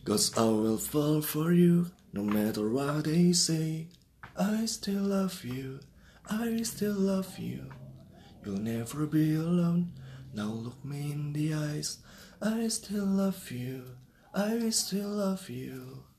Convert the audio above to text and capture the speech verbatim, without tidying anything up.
'Cause I will fall for you, no matter what they say. I still love you, I still love you. You'll never be alone, now look me in the eyes. I still love you, I still love you.